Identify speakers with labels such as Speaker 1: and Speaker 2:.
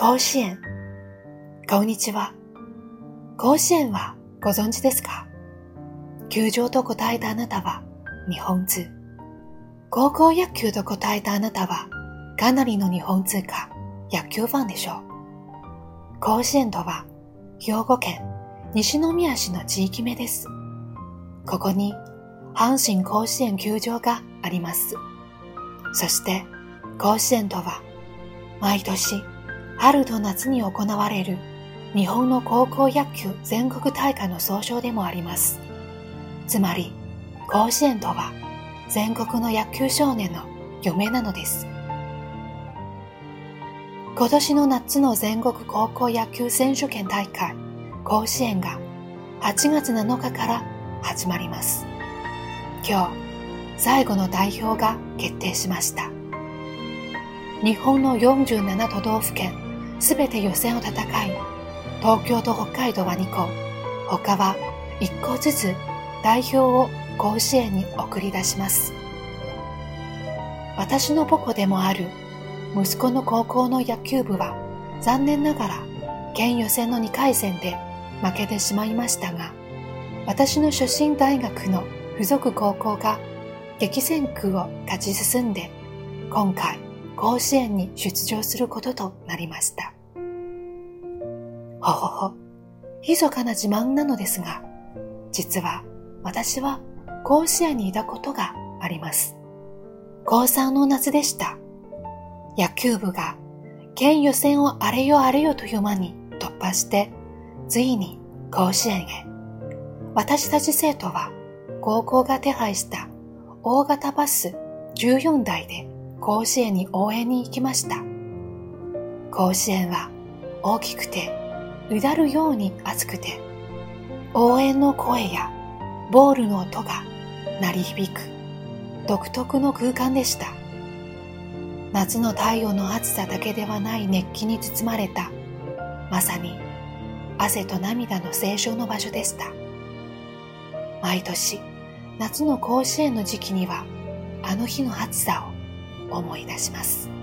Speaker 1: 甲子園。こんにちは。甲子園はご存知ですか？球場と答えたあなたは日本通。高校野球と答えたあなたはかなりの日本通か野球ファンでしょう。甲子園とは兵庫県西宮市の地域名です。ここに阪神甲子園球場があります。そして甲子園とは毎年春と夏に行われる日本の高校野球全国大会の総称でもあります。つまり甲子園とは全国の野球少年の夢なのです。今年の夏の全国高校野球選手権大会甲子園が8月7日から始まります。今日最後の代表が決定しました。日本の47都道府県すべて予選を戦い、東京と北海道は2校、他は1校ずつ代表を甲子園に送り出します。私の母校でもある息子の高校の野球部は残念ながら県予選の2回戦で負けてしまいましたが、私の出身大学の付属高校が激戦区を勝ち進んで今回甲子園に出場することとなりました。ほほほ、密かな自慢なのですが、実は私は甲子園にいたことがあります。高3の夏でした。野球部が県予選をあれよあれよという間に突破して、ついに甲子園へ。私たち生徒は高校が手配した大型バス14台で甲子園に応援に行きました。甲子園は大きくてうだるように熱くて、応援の声やボールの音が鳴り響く独特の空間でした。夏の太陽の暑さだけではない熱気に包まれた、まさに汗と涙の清浄の場所でした。毎年夏の甲子園の時期にはあの日の暑さを思い出します。